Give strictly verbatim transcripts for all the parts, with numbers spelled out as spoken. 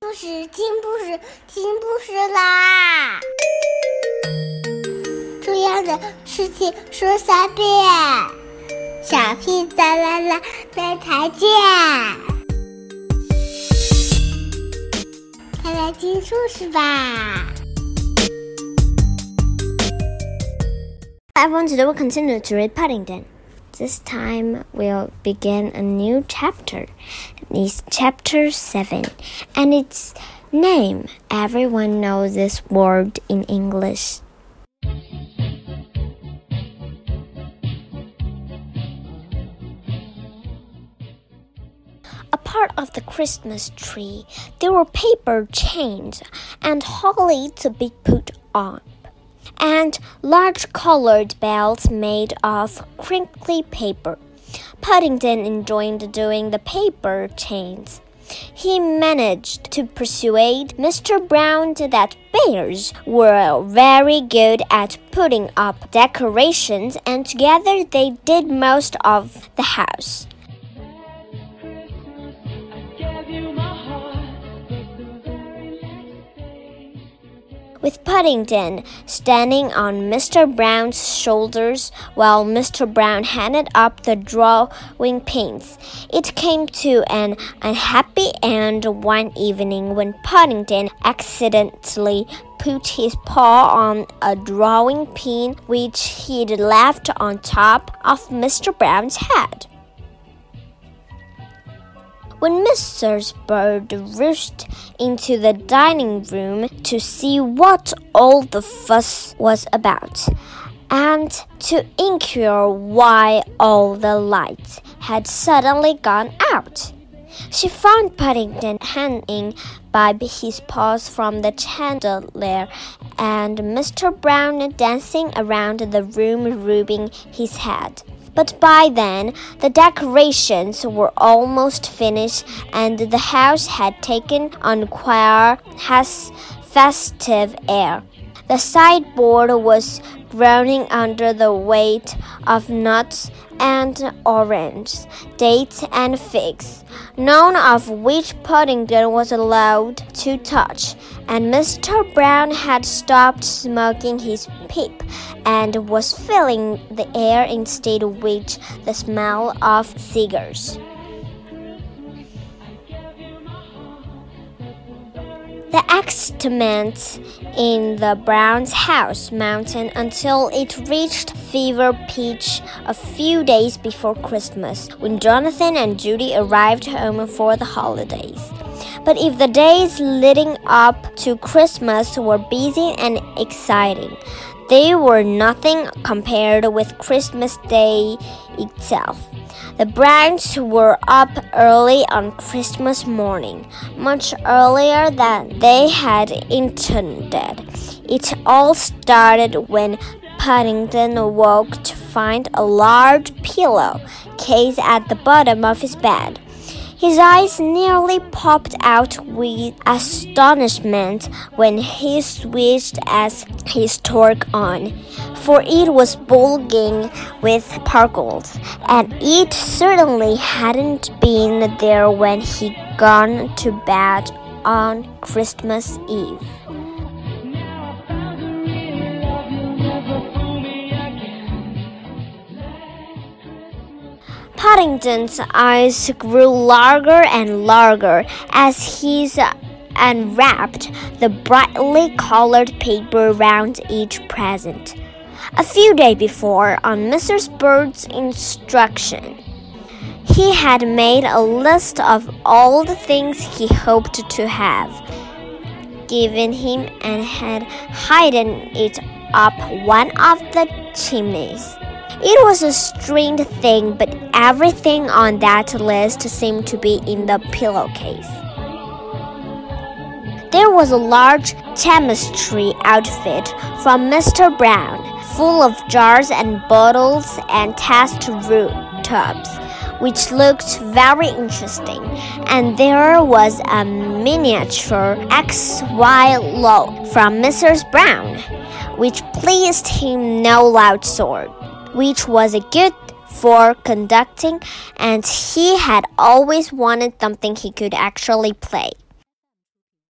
事，听故事，听故事啦！重要的事情说三遍，小屁哒啦啦，明天见！快来听故事吧。 Hi everyone, today we'll continue to read Paddington. This time we'll begin a new chapter. It's chapter seven, and its name, everyone knows this word in English. A part of the Christmas tree, there were paper chains and holly to be put on.And large colored bells made of crinkly paper. Paddington enjoyed doing the paper chains. He managed to persuade Mister Brown that bears were very good at putting up decorations, and together they did most of the house.With Paddington standing on Mister Brown's shoulders while Mister Brown handed up the drawing pins, it came to an unhappy end one evening when Paddington accidentally put his paw on a drawing pin which he'd left on top of Mister Brown's head.When Missus Bird rushed into the dining room to see what all the fuss was about, and to inquire why all the lights had suddenly gone out, she found Paddington hanging by his paws from the chandelier, and Mister Brown dancing around the room rubbing his head.But by then, the decorations were almost finished, and the house had taken on quite a festive air. The sideboard was groaning under the weight of nuts and oranges, dates and figs, none of which Paddington was allowed to touch, and Mister Brown had stopped smoking his pipe and was filling the air instead with the smell of cigars.The excitement in the Brown's house mounted until it reached fever pitch a few days before Christmas, when Jonathan and Judy arrived home for the holidays. But if the days leading up to Christmas were busy and exciting, they were nothing compared with Christmas Day itself.The Browns were up early on Christmas morning, much earlier than they had intended. It all started when Paddington awoke to find a large pillow case at the bottom of his bed. His eyes nearly popped out with astonishment when he switched as his torque on, for it was bulging with sparkles, and it certainly hadn't been there when he'd gone to bed on Christmas Eve.Paddington's eyes grew larger and larger as he unwrapped the brightly colored paper round each present. A few days before, on Missus Bird's instruction, he had made a list of all the things he hoped to have given him and had hidden it up one of the chimneys.It was a strange thing, but everything on that list seemed to be in the pillowcase. There was a large chemistry outfit from Mister Brown, full of jars and bottles and test tubes, which looked very interesting, and there was a miniature X Y loaf from Missus Brown, which pleased him no loud sword.which was good for conducting, and he had always wanted something he could actually play.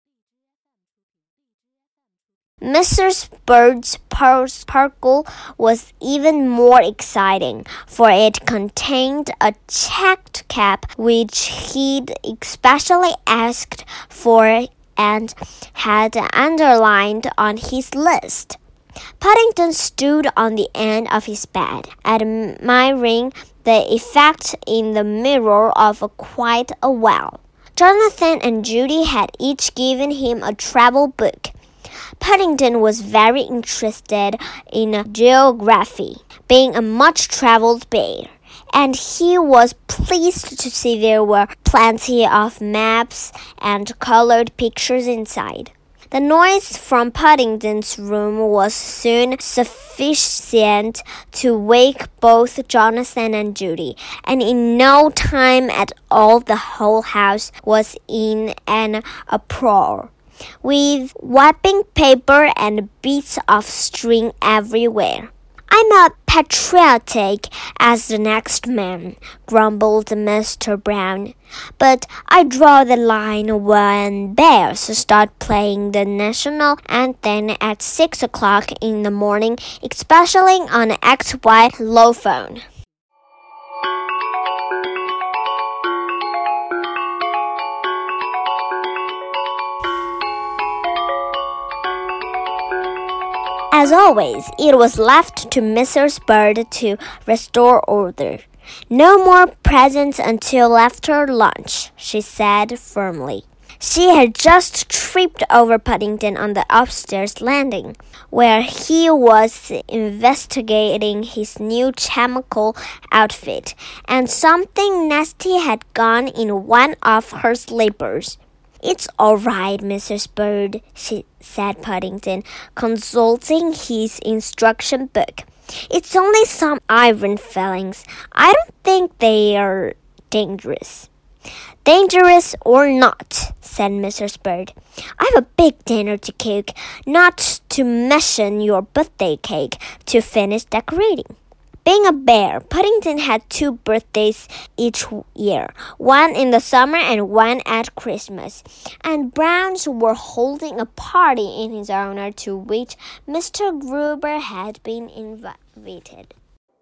Missus Bird's parcel was even more exciting, for it contained a checked cap which he'd especially asked for and had underlined on his list. Paddington stood on the end of his bed, admiring the effect in the mirror of quite a while. Jonathan and Judy had each given him a travel book. Paddington was very interested in geography, being a much-traveled bear, and he was pleased to see there were plenty of maps and colored pictures inside. The noise from Paddington's room was soon sufficient to wake both Jonathan and Judy, and in no time at all the whole house was in an uproar, with wrapping paper and bits of string everywhere. "I'm as patriotic as the next man," grumbled Mister Brown, "but I draw the line when bears start playing the national anthem at six o'clock in the morning, especially on X Y Lophone." As always, it was left to Missus Bird to restore order. "No more presents until after lunch," she said firmly. She had just tripped over Paddington on the upstairs landing, where he was investigating his new chemical outfit, and something nasty had gone in one of her slippers. "It's all right, Missus Bird," she said Paddington, consulting his instruction book. "It's only some iron filings. I don't think they are dangerous." "Dangerous or not," said Missus Bird, "I've a big dinner to cook, not to mention your birthday cake to finish decorating." Being a bear, Paddington had two birthdays each year, one in the summer and one at Christmas, and Browns were holding a party in his honor to which Mister Gruber had been invited.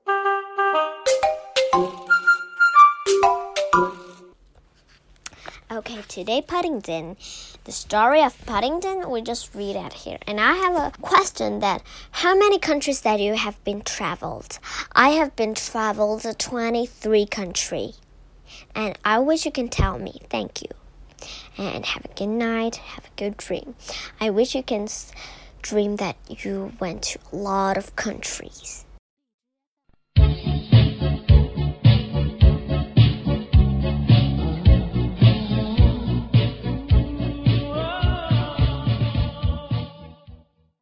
Okay, today Paddington. The story of Paddington, we just read it here. And I have a question that how many countries that you have been traveled? I have been traveled to twenty-three countries. And I wish you can tell me. Thank you. And have a good night. Have a good dream. I wish you can dream that you went to a lot of countries.